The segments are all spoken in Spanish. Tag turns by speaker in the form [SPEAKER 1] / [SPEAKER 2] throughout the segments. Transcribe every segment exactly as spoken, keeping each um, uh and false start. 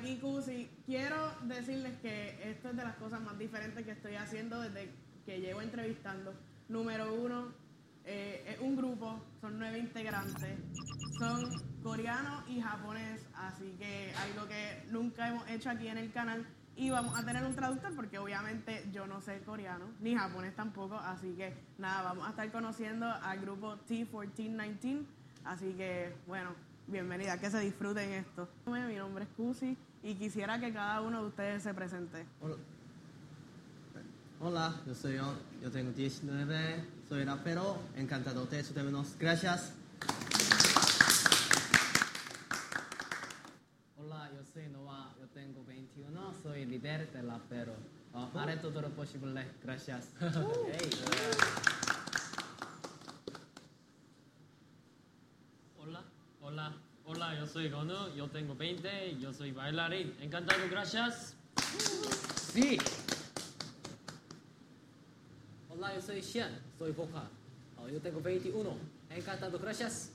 [SPEAKER 1] aquí Cusi. Quiero decirles que esto es de las cosas más diferentes que estoy haciendo desde que llevo entrevistando. Número uno, eh, es un grupo, son nueve integrantes, son coreano y japonés, así que algo que nunca hemos hecho aquí en el canal. Y vamos a tener un traductor porque obviamente yo no sé coreano, ni japonés tampoco, así que nada, vamos a estar conociendo al grupo T catorce diecinueve, así que bueno, bienvenida, que se disfruten esto. Mi nombre es Cusi y quisiera que cada uno de ustedes se presente.
[SPEAKER 2] Hola, Hola yo soy yo, yo tengo diecinueve, soy rapero, encantado de escucharnos, gracias.
[SPEAKER 3] Hola, yo soy Noah, yo tengo veintiuno, soy líder del rapero. Uh, haré todo lo posible, gracias. Hey.
[SPEAKER 4] Hola, hola, hola, yo soy Gonu, yo tengo veinte, yo soy bailarín. Encantado, gracias.
[SPEAKER 3] Sí. Hola, yo soy Xian, soy vocal. Uh, yo tengo veintiuno, encantado, gracias.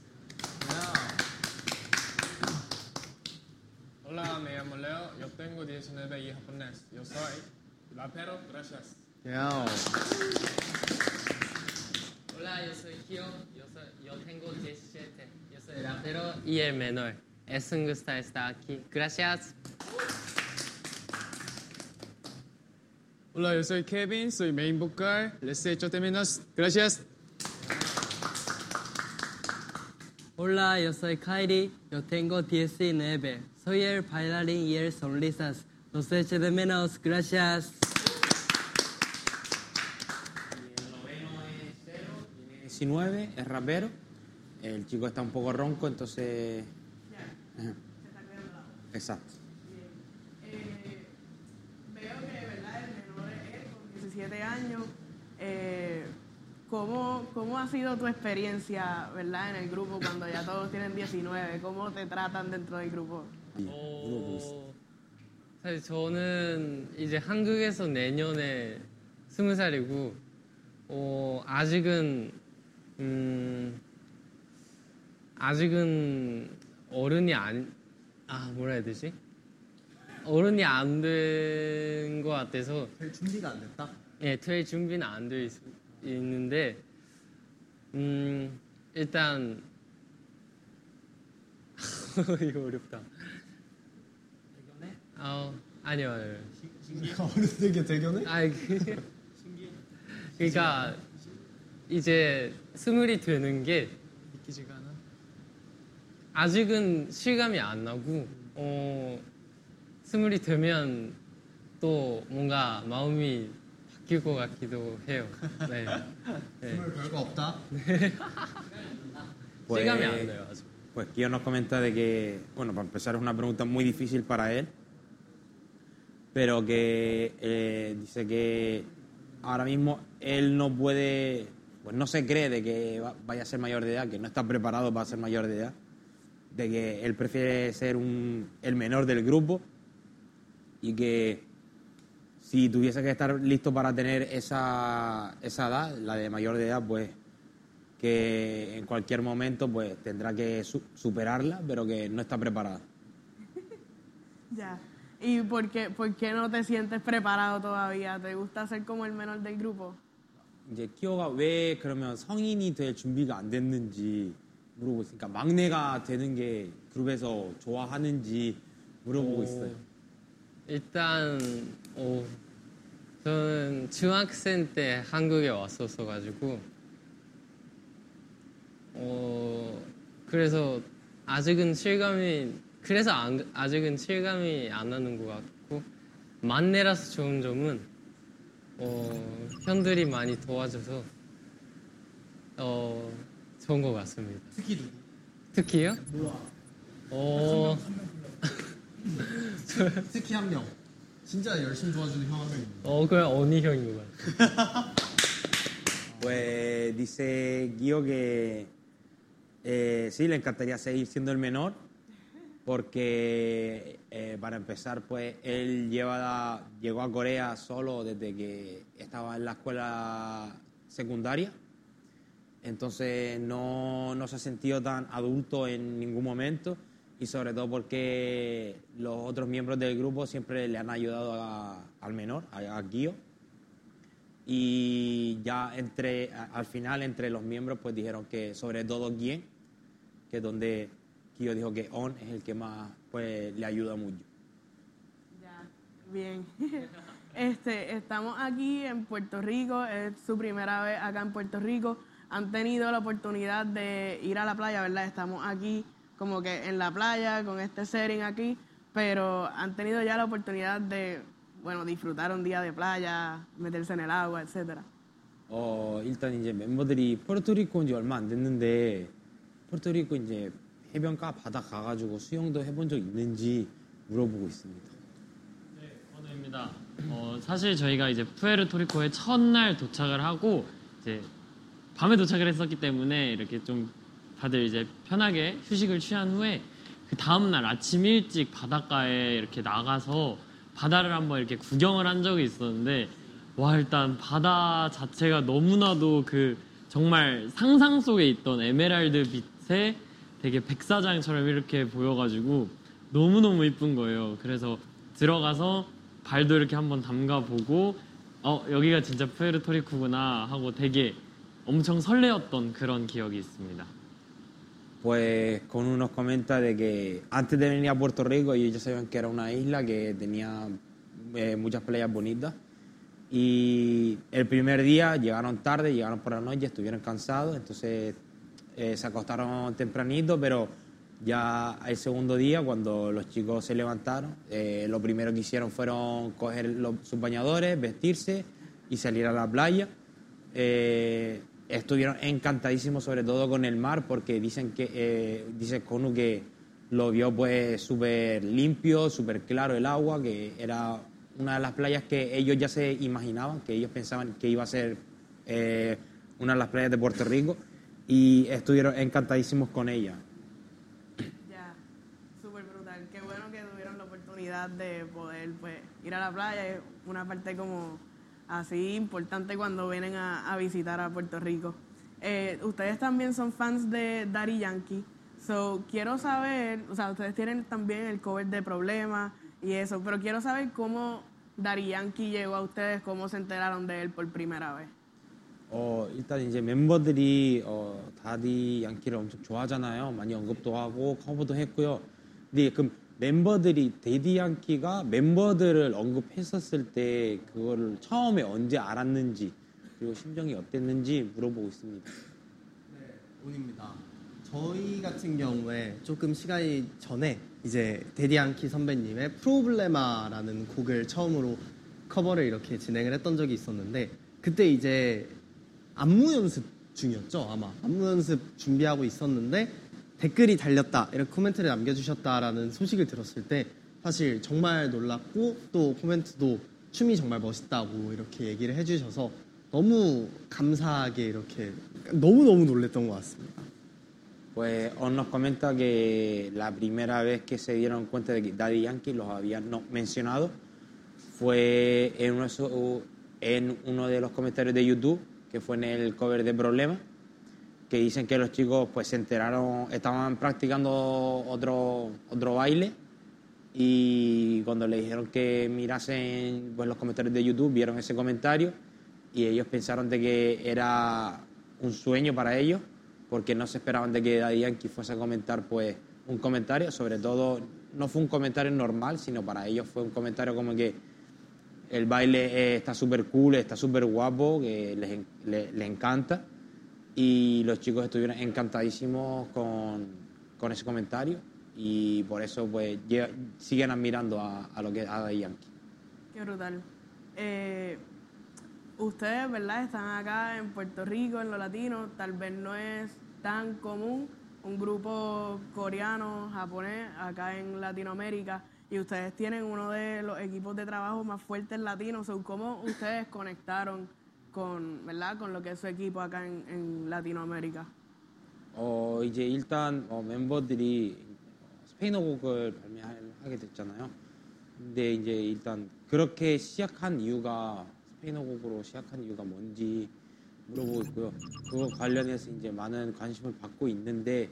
[SPEAKER 5] Hola, me llamo Leo, yo tengo diecinueve y japonés. Yo soy rapero, gracias.
[SPEAKER 2] Yeah.
[SPEAKER 4] Hola, yo soy Hyo, yo, soy, yo tengo diecisiete, yo soy rapero y el menor. Es un gusto estar aquí. Gracias.
[SPEAKER 5] Hola, yo soy Kevin, soy main vocal. Les echo de menos, gracias.
[SPEAKER 3] Hola, yo soy Kairi, yo tengo diecinueve. Soy el bailarín y el sonrisas. Los echo de menos, gracias.
[SPEAKER 6] El noveno es Cero, tiene diecinueve, es rapero. El chico está un poco ronco, entonces...
[SPEAKER 1] Ya,
[SPEAKER 6] Ajá.
[SPEAKER 1] se está quedando la voz.
[SPEAKER 6] Exacto.
[SPEAKER 1] Bien. Eh, veo que, ¿verdad? El menor es él, con diecisiete años. Eh, ¿cómo, ¿Cómo ha sido tu experiencia, ¿verdad? En el grupo cuando ya todos tienen diecinueve? ¿Cómo te tratan dentro del grupo?
[SPEAKER 4] 어, 사실 저는 이제 한국에서 내년에 스무 살이고, 어, 아직은, 음, 아직은 어른이 안, 아, 뭐라 해야 되지? 어른이 안 된 것 같아서,
[SPEAKER 2] 될 준비가 안 됐다?
[SPEAKER 4] 예, 될 준비는 안 돼 있는데, 음, 일단, 이거 어렵다. 어, 아니요, 아니요.
[SPEAKER 2] 어른에게 대견해?
[SPEAKER 4] 아니, 그, 그러니까 이제 스물이 되는 게
[SPEAKER 5] 믿기지가 않아.
[SPEAKER 4] 아직은 실감이 안 나고, 어, 스물이 되면 또 뭔가 마음이 바뀔 것 같기도 해요. 네. 네.
[SPEAKER 2] 스물 별거 없다?
[SPEAKER 6] Pues,
[SPEAKER 4] 실감이 안 나요, 아직.
[SPEAKER 6] pues Kio nos comenta de que, bueno, para empezar es una pregunta muy difícil para él, pero que eh, dice que ahora mismo él no puede, pues no se cree de que va- vaya a ser mayor de edad, que no está preparado para ser mayor de edad, de que él prefiere ser un, el menor del grupo y que si tuviese que estar listo para tener esa, esa edad, la de mayor de edad, pues que en cualquier momento pues tendrá que su- superarla, pero que no está preparado.
[SPEAKER 1] Ya. ¿Y por qué, por qué no te sientes preparado todavía? ¿Te gusta ser como el menor del grupo?
[SPEAKER 6] 이제 키오가 왜 그러면 성인이 될 준비가 안 됐는지 물어보고 있으니까 막내가 되는 게 그룹에서 좋아하는지 물어보고
[SPEAKER 4] 오,
[SPEAKER 6] 있어요.
[SPEAKER 4] 일단, 어, 저는 중학생 때 한국에 왔었어가지고, 어, 그래서 아직은 실감이, 그래서 안- 아직은 실감이 안 나는 것 같고, 만내라서 좋은 점은, 어, 형들이 많이 도와줘서, 어, 좋은 것 같습니다.
[SPEAKER 2] 특히 누구?
[SPEAKER 4] 특히요?
[SPEAKER 2] 몰라.
[SPEAKER 4] 어,
[SPEAKER 2] 특히 한 명. 진짜 열심히 도와주는 형 한 명 있는데.
[SPEAKER 4] 어, 그냥 언니 형인 것 같아요.
[SPEAKER 6] Pues dice Guío que eh, sí, le encantaría seguir siendo el menor, porque eh, para empezar, pues él lleva, llegó a Corea solo desde que estaba en la escuela secundaria, entonces no, no se ha sentido tan adulto en ningún momento y sobre todo porque los otros miembros del grupo siempre le han ayudado a- al menor, a, a Kyo. Y ya entre, a- al final entre los miembros pues dijeron que sobre todo Gien, que es donde Kyo dijo que On es el que más pues le ayuda mucho.
[SPEAKER 1] Ya, bien. Este, estamos aquí en Puerto Rico, es su primera vez acá en Puerto Rico. Han tenido la oportunidad de ir a la playa, ¿verdad? Estamos aquí como que en la playa con este setting aquí, pero han tenido ya la oportunidad de, bueno, disfrutar un día de playa, meterse en el agua, etcétera.
[SPEAKER 6] 어, 일단 이제 멤버들이 포르토리코 온 지 얼마 안 됐는데 포르토리코 이제 해변가 바다 가가지고 수영도 해본 적 있는지 물어보고 있습니다.
[SPEAKER 7] 네, 원우입니다. 어, 사실 저희가 이제 푸에르토리코에 첫날 도착을 하고 이제 밤에 도착을 했었기 때문에 이렇게 좀 다들 이제 편하게 휴식을 취한 후에 그 다음 날 아침 일찍 바닷가에 이렇게 나가서 바다를 한번 이렇게 구경을 한 적이 있었는데 와 일단 바다 자체가 너무나도 그 정말 상상 속에 있던 에메랄드 빛에 되게 백사장처럼 이렇게 보여가지고 너무너무 이쁜 거예요. 그래서 들어가서 발도 이렇게 한번 담가보고 어 여기가 진짜 푸에르토리코구나 하고 되게 엄청 설레었던 그런 기억이 있습니다.
[SPEAKER 6] Pues con uno nos comenta de que antes de venir a Puerto Rico ellos ya sabían que era una isla que tenía eh, muchas playas bonitas y el primer día llegaron tarde, llegaron por la noche, estuvieron cansados, entonces eh, se acostaron tempranito, pero ya el segundo día cuando los chicos se levantaron, eh, lo primero que hicieron fueron coger los, sus bañadores, vestirse y salir a la playa. Eh, estuvieron encantadísimos sobre todo con el mar porque dicen que eh, dice Konu que lo vio pues súper limpio, súper claro el agua, que era una de las playas que ellos ya se imaginaban, que ellos pensaban que iba a ser eh, una de las playas de Puerto Rico y estuvieron encantadísimos con ella.
[SPEAKER 1] Ya, súper brutal. Qué bueno que tuvieron la oportunidad de poder pues, ir a la playa. Es una parte como así importante cuando vienen a, a visitar a Puerto Rico. Eh, ustedes también son fans de Daddy Yankee. So, quiero saber, o sea, ustedes tienen también el cover de Problemas y eso, pero quiero saber cómo Daddy Yankee llegó a ustedes, cómo se enteraron de él por primera vez.
[SPEAKER 6] 어, 일단 이제 멤버들이 어, 다디 양키를 엄청 좋아하잖아요. 많이 언급도 하고 커버도 했고요. 근데 그 멤버들이 데디 양키가 멤버들을 언급했었을 때 그거를 처음에 언제 알았는지 그리고 심정이 어땠는지 물어보고 있습니다.
[SPEAKER 2] 네, 온입니다. 저희 같은 경우에 조금 시간이 전에 이제 데디앙키 선배님의 프로블레마라는 곡을 처음으로 커버를 이렇게 진행을 했던 적이 있었는데 그때 이제 안무 연습 중이었죠 아마 안무 연습 준비하고 있었는데 댓글이 달렸다 이렇게 코멘트를 남겨주셨다라는 소식을 들었을 때 사실 정말 놀랐고 또 코멘트도 춤이 정말 멋있다고 이렇게 얘기를 해주셔서 너무 감사하게 이렇게 너무너무 놀랬던 것 같습니다.
[SPEAKER 6] Pues On nos comenta que la primera vez que se dieron cuenta de que Daddy Yankee los había no, mencionado fue en uno, de su, en uno de los comentarios de YouTube, que fue en el cover de Problemas, que dicen que los chicos pues se enteraron, estaban practicando otro, otro baile y cuando le dijeron que mirasen pues, los comentarios de YouTube, vieron ese comentario y ellos pensaron de que era un sueño para ellos porque no se esperaban de que Daddy Yankee fuese a comentar pues un comentario, sobre todo no fue un comentario normal, sino para ellos fue un comentario como que el baile eh, está súper cool, está súper guapo, que les, les, les encanta y los chicos estuvieron encantadísimos con, con ese comentario y por eso pues llega, siguen admirando a, a lo que es a Daddy Yankee.
[SPEAKER 1] Qué brutal. Eh, ustedes, ¿verdad? Están acá en Puerto Rico, en lo latino, tal vez no es tan común un grupo coreano, japonés, acá en Latinoamérica, y ustedes tienen uno de los equipos de trabajo más fuertes latinos. ¿Cómo ustedes conectaron con, ¿verdad? con lo que es su equipo acá en, en Latinoamérica?
[SPEAKER 6] 어, 이제 일단 어, 멤버들이 스페인어 곡을 발매하게 됐잖아요. 근데 이제 일단 그렇게 시작한 이유가 스페인어 곡으로 시작한 이유가 뭔지 물어보고 있고요. 그거 관련해서 이제 많은 관심을 받고 있는데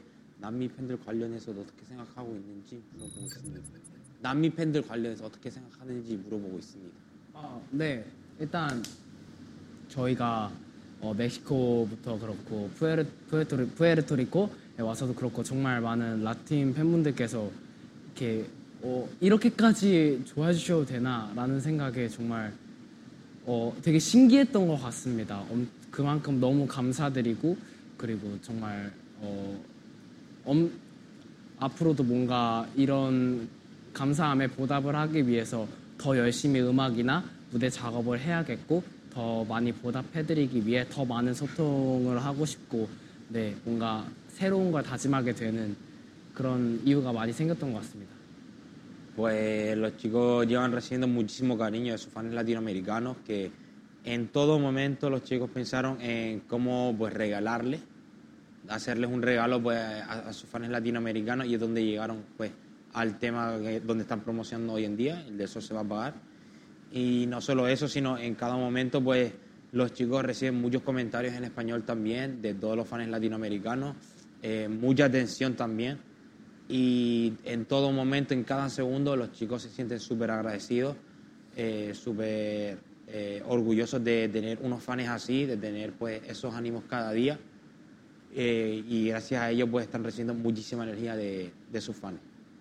[SPEAKER 6] 남미 팬들 관련해서 어떻게 생각하고 있는지 물어보고 있습니다. 남미 팬들 관련해서 어떻게 생각하는지 물어보고 있습니다.
[SPEAKER 8] 어, 네, 일단 저희가 어, 멕시코부터 그렇고 푸에르, 푸에르토리, 푸에르토리코에 와서도 그렇고 정말 많은 라틴 팬분들께서 이렇게 어, 이렇게까지 좋아해 주셔도 되나라는 생각에 정말 어, 되게 신기했던 것 같습니다. 엄, 그만큼 너무 감사드리고 그리고 정말 어, 엄, 앞으로도 뭔가 이런 감사함에 보답을 하기 위해서 더 열심히 음악이나 무대 작업을 해야겠고 더 많이 보답해드리기 위해 더 많은 소통을 하고 싶고 네, 뭔가 새로운 걸 다짐하게 되는 그런 이유가 많이 생겼던 것 같습니다.
[SPEAKER 6] Pues los chicos llevan recibiendo muchísimo cariño de sus fans latinoamericanos que en todo momento los chicos pensaron en cómo pues regalarles, hacerles un regalo pues a, a sus fans latinoamericanos y es donde llegaron pues al tema que, donde están promocionando hoy en día, el de Eso se va a pagar. Y no solo eso, sino en cada momento pues los chicos reciben muchos comentarios en español también de todos los fans latinoamericanos, eh, mucha atención también. Y en todo momento, en cada segundo, los chicos se sienten súper agradecidos, eh, súper eh, orgullosos de tener unos fans así, de tener pues esos ánimos cada día. Eh, y gracias a ellos pues están recibiendo muchísima energía de, de sus fans.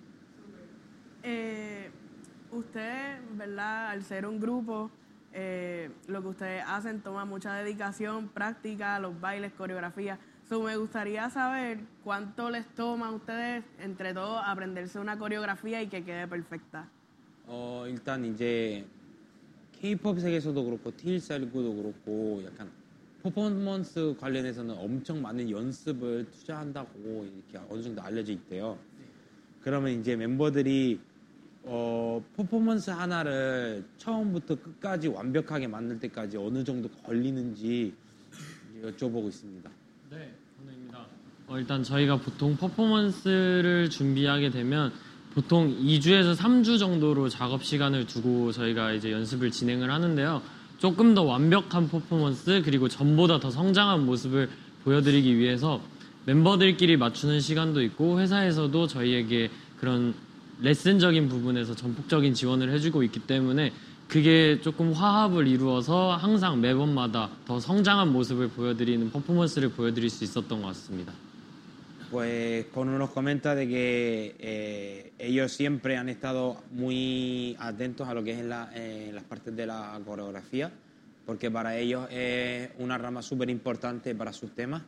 [SPEAKER 1] Eh, ustedes, ¿verdad? Al ser un grupo, eh, lo que ustedes hacen toma mucha dedicación, práctica, los bailes, coreografía. So, me gustaría saber cuánto les toma a ustedes entre todos aprenderse una coreografía y que quede perfecta.
[SPEAKER 6] 어, 일단 이제 K-팝 세계에서도 그렇고 티일사일구도 그렇고 약간 퍼포먼스 관련해서는 엄청 많은 연습을 투자한다고 이렇게 어느 정도 알려져 있대요. 그러면 이제 멤버들이 어, 퍼포먼스 하나를 처음부터 끝까지 완벽하게 만들 때까지 어느 정도 걸리는지 여쭤보고 있습니다.
[SPEAKER 7] 네, 건우입니다. 어, 일단 저희가 보통 퍼포먼스를 준비하게 되면 보통 이 주에서 삼 주 정도로 작업 시간을 두고 저희가 이제 연습을 진행을 하는데요. 조금 더 완벽한 퍼포먼스 그리고 전보다 더 성장한 모습을 보여드리기 위해서 멤버들끼리 맞추는 시간도 있고 회사에서도 저희에게 그런 레슨적인 부분에서 전폭적인 지원을 해주고 있기 때문에 그게 조금 화합을 이루어서 항상 매번마다 더 성장한 모습을 보여드리는 퍼포먼스를 보여드릴 수 있었던 것 같습니다.
[SPEAKER 6] Pues Konu nos comenta de que eh, ellos siempre han estado muy atentos a lo que es la, eh, las partes de la coreografía, porque para ellos es una rama súper importante para sus temas.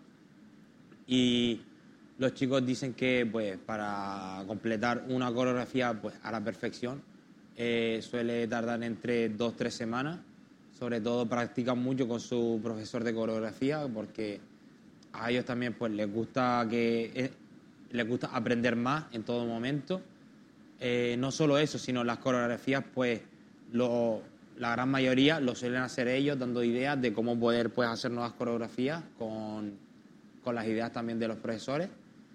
[SPEAKER 6] Y los chicos dicen que pues, para completar una coreografía pues, a la perfección eh, suele tardar entre dos o tres semanas. Sobre todo practican mucho con su profesor de coreografía porque a ellos también pues, les, gusta que, eh, les gusta aprender más en todo momento. Eh, no solo eso, sino las coreografías, pues lo, la gran mayoría lo suelen hacer ellos, dando ideas de cómo poder pues, hacer nuevas coreografías con, con las ideas también de los profesores.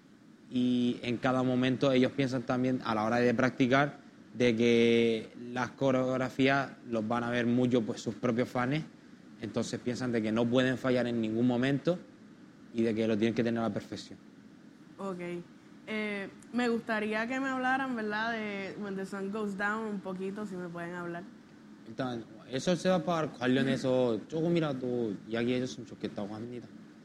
[SPEAKER 6] Y en cada momento ellos piensan también a la hora de practicar de que las coreografías los van a ver mucho pues, sus propios fans, entonces piensan de que no pueden fallar en ningún momento y de que lo tienen que tener a la perfección.
[SPEAKER 1] Ok. Eh, me gustaría que me hablaran, ¿verdad? De When the Sun Goes Down un poquito, si me pueden hablar.
[SPEAKER 6] 일단 에서 세바파 관련해서 조금이라도 이야기해 줬으면 좋겠다고 합니다.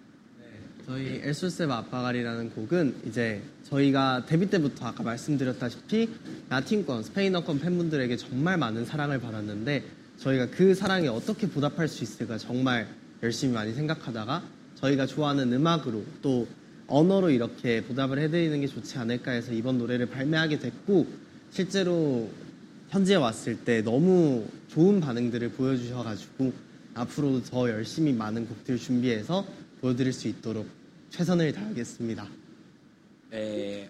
[SPEAKER 2] 저희 엘솔세바 아빠가리라는 곡은 이제 저희가 데뷔 때부터 아까 말씀드렸다시피 라틴권, 스페인어권 팬분들에게 정말 많은 사랑을 받았는데 저희가 그 사랑에 어떻게 보답할 수 있을까 정말 열심히 많이 생각하다가 저희가 좋아하는 음악으로 또 언어로 이렇게 보답을 해드리는 게 좋지 않을까 해서 이번 노래를 발매하게 됐고 실제로 현지에 왔을 때 너무 좋은 반응들을 보여주셔가지고 앞으로도 더 열심히 많은 곡들 준비해서 보여드릴 수 있도록 최선을 다하겠습니다.
[SPEAKER 6] Eh,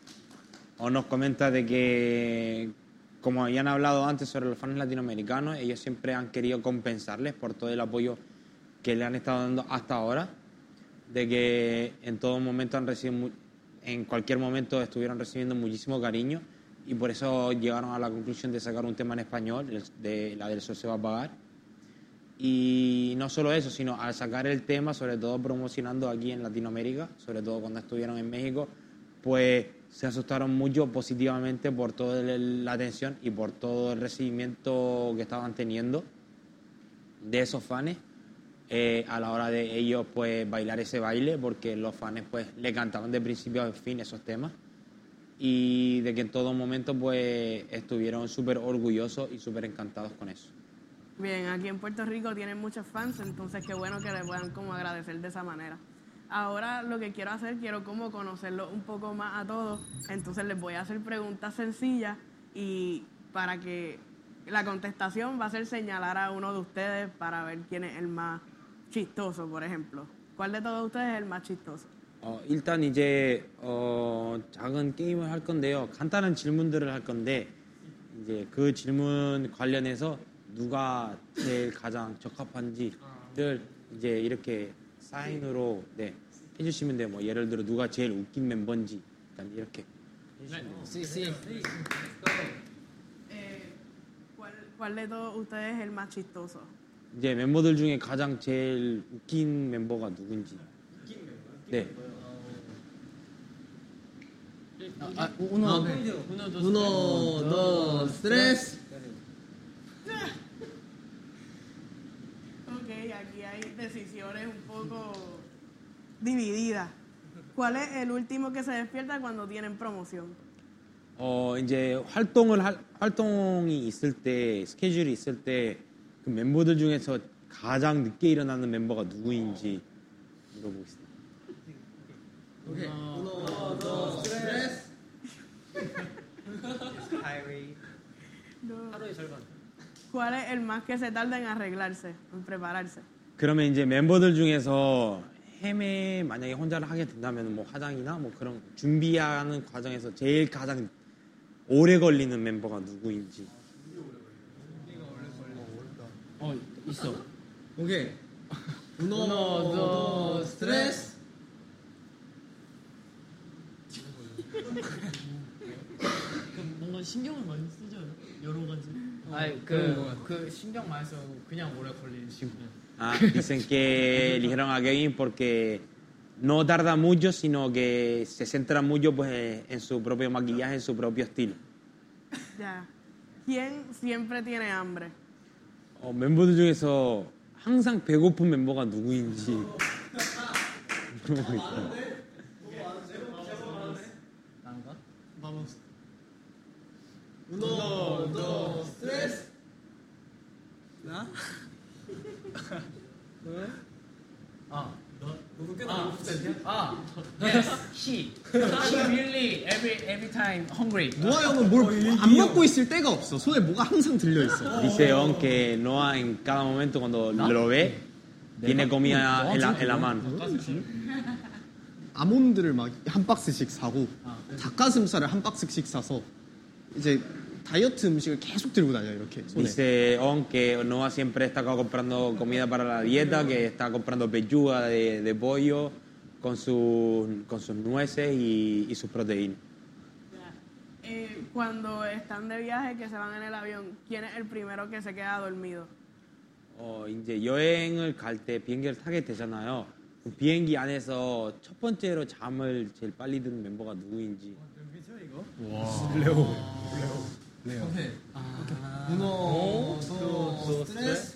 [SPEAKER 6] o nos comenta de que, como habían hablado antes sobre los fans latinoamericanos, ellos siempre han querido compensarles por todo el apoyo que le han estado dando hasta ahora, de que en todo momento han recibido, en cualquier momento estuvieron recibiendo muchísimo cariño y por eso llegaron a la conclusión de sacar un tema en español, de la del Sol se va a pagar. Y no solo eso, sino al sacar el tema, sobre todo promocionando aquí en Latinoamérica, sobre todo cuando estuvieron en México, pues se asustaron mucho positivamente por toda el- la atención y por todo el recibimiento que estaban teniendo de esos fans eh, a la hora de ellos pues bailar ese baile, porque los fans pues le cantaban de principio a fin esos temas y de que en todo momento pues estuvieron súper orgullosos y súper encantados con eso.
[SPEAKER 1] Bien, aquí en Puerto Rico tienen muchos fans, entonces qué bueno que les puedan como agradecer de esa manera. Ahora lo que quiero hacer, quiero como conocerlos un poco más a todos, entonces les voy a hacer preguntas sencillas y para que la contestación va a ser señalar a uno de ustedes para ver quién es el más chistoso, por ejemplo. ¿Cuál de todos ustedes es el más chistoso?
[SPEAKER 6] 어, 일단 이제 어, 작은 게임을 할 건데요. 간단한 질문들을 할 건데 이제 그 질문 관련해서 누가 제일 가장 적합한지를 이제 이렇게 사인으로 네, 해주시면 돼요. 뭐 예를 들어 누가 제일 웃긴 멤버인지 일단 이렇게 해주시면 돼요.
[SPEAKER 1] Eh, ¿cuál, ¿Cuál de todos ustedes es el más chistoso?
[SPEAKER 6] 이제 멤버들 중에 가장 제일 웃긴 멤버가 누군지. 네.
[SPEAKER 8] 아, uno,
[SPEAKER 2] uno, dos, tres.
[SPEAKER 1] Ok, aquí hay decisiones un poco divididas. ¿Cuál es el último que se despierta cuando tienen promoción?
[SPEAKER 6] 어 이제 활동을 할- 활동이 있을 때 스케줄이 있을 때 그 멤버들 중에서 가장 늦게 일어나는 멤버가 누구인지 물어보겠습니다.
[SPEAKER 2] uno, dos, tres.
[SPEAKER 1] ¿Cuál es el más que se tarda en arreglarse, en prepararse?
[SPEAKER 6] 그러면 이제 멤버들 중에서 헤매 만약에 혼자를 하게 된다면 뭐 화장이나 뭐 그런 준비하는 과정에서 제일 가장 오래 걸리는 멤버가 누구인지.
[SPEAKER 8] 어 있어.
[SPEAKER 2] 오케이. uno, dos, tres.
[SPEAKER 7] 뭔가 신경을 많이 쓰죠. 여러 가지.
[SPEAKER 8] 아니 그그 신경 많이 써도 그냥 오래 걸리는 친구.
[SPEAKER 6] Ah, dicen que eligieron a Kevin porque no tarda mucho, sino que se centra mucho pues en su propio maquillaje, en su propio estilo.
[SPEAKER 1] Ya. ¿Quién siempre tiene hambre?
[SPEAKER 6] 어, 멤버들 중에서 항상 배고픈 멤버가 누구인지 물어보고 있어요.
[SPEAKER 8] 난가?
[SPEAKER 2] uno, dos, tres.
[SPEAKER 3] 나?
[SPEAKER 8] 아. 아, 아, yes, he, he really every every time hungry.
[SPEAKER 2] 노아 형은 뭘 안 먹고 있을 때가 없어. 손에 뭐가 항상 들려 있어.
[SPEAKER 6] Dice On que Noah en cada momento cuando lo ve tiene comida en la, en la mano.
[SPEAKER 2] 아몬드를 막 한 박스씩 사고 닭가슴살을 한 박스씩 사서 이제 다이어트 음식을 계속 들고 다녀 이렇게 손에.
[SPEAKER 6] Dice On que Noah siempre está comprando comida para la dieta, que está comprando pechuga de, de pollo con, sus con sus nueces y, y sus proteínas.
[SPEAKER 1] Eh, cuando están de viaje, que se van en el avión, ¿quién es el primero que se queda dormido?
[SPEAKER 6] 어, 이제 여행을 갈 때 비행기를 타게 되잖아요. 그 비행기 안에서 첫 번째로 잠을 제일 빨리 드는 멤버가 누구인지.
[SPEAKER 2] uno, dos, tres.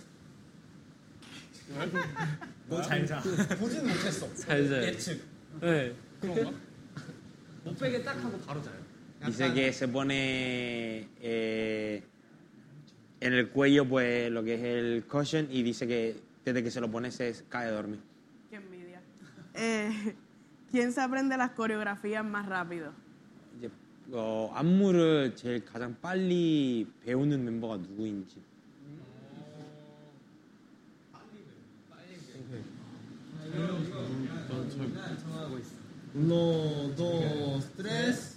[SPEAKER 8] 너잘 자.
[SPEAKER 2] 보지는 못했어.
[SPEAKER 4] 잘 자요.
[SPEAKER 2] 예측.
[SPEAKER 4] 네.
[SPEAKER 2] 못 빼게 딱 하고 바로 자요.
[SPEAKER 6] Dice que se pone eh, en el cuello pues lo que es el cushion y dice que desde que se lo pone se cae a dormir.
[SPEAKER 1] Qué envidia. Eh, ¿Quién se aprende las coreografías más rápido?
[SPEAKER 6] 이제 어, 안무를 제일 가장 빨리 배우는 멤버가 누구인지.
[SPEAKER 2] uno, dos, tres.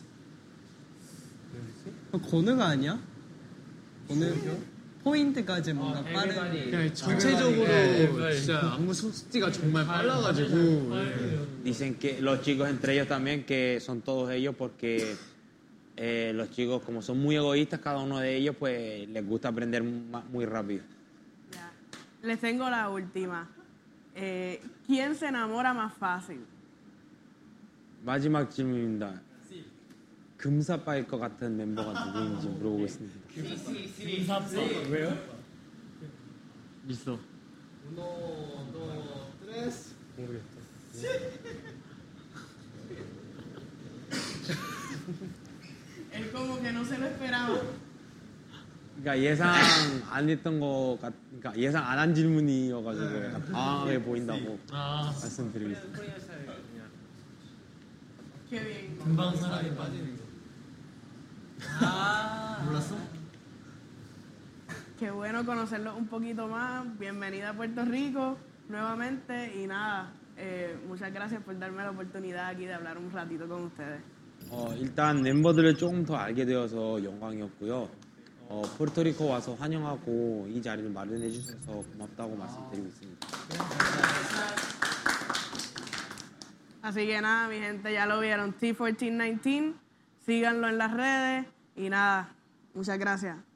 [SPEAKER 3] 건우가 아니야? 건우 포인트까지 뭔가 빠른.
[SPEAKER 5] 그냥 전체적으로 진짜 안무 속도가 정말 빨라가지고
[SPEAKER 6] Dicen que los chicos entre ellos también que son todos ellos porque eh, los chicos como son muy egoístas cada uno de ellos pues les gusta aprender ma- muy rápido.
[SPEAKER 1] Ya. Les tengo la última. Eh, ¿Quién se enamora más fácil?
[SPEAKER 6] 마지막 질문입니다. 금사빠일 것 같은 멤버가 누구인지 물어보고 있습니다.
[SPEAKER 7] 있어.
[SPEAKER 1] Él como que no se lo esperaba.
[SPEAKER 6] 그러니까 예상 안 했던 거 같, 그러니까 예상 안 한 질문이어가지고 약간 당황하게 보인다고
[SPEAKER 7] 아,
[SPEAKER 6] 말씀드리겠습니다.
[SPEAKER 1] Qué bien.
[SPEAKER 3] 금방 사람이 빠지는 거. 아, 몰랐어?
[SPEAKER 1] Qué bueno conocerlos un poquito más. Bienvenida a Puerto Rico nuevamente y nada, eh, muchas gracias por darme la oportunidad aquí de hablar un ratito con ustedes.
[SPEAKER 6] 어, 일단 멤버들을 조금 더 알게 되어서 영광이었고요. 어, 포르토리코 와서 환영하고 이 자리를 마련해 주셔서 고맙다고 말씀드리고 있습니다.
[SPEAKER 1] Así que nada, mi gente, ya lo vieron, T catorce diecinueve, síganlo en las redes y nada, muchas gracias.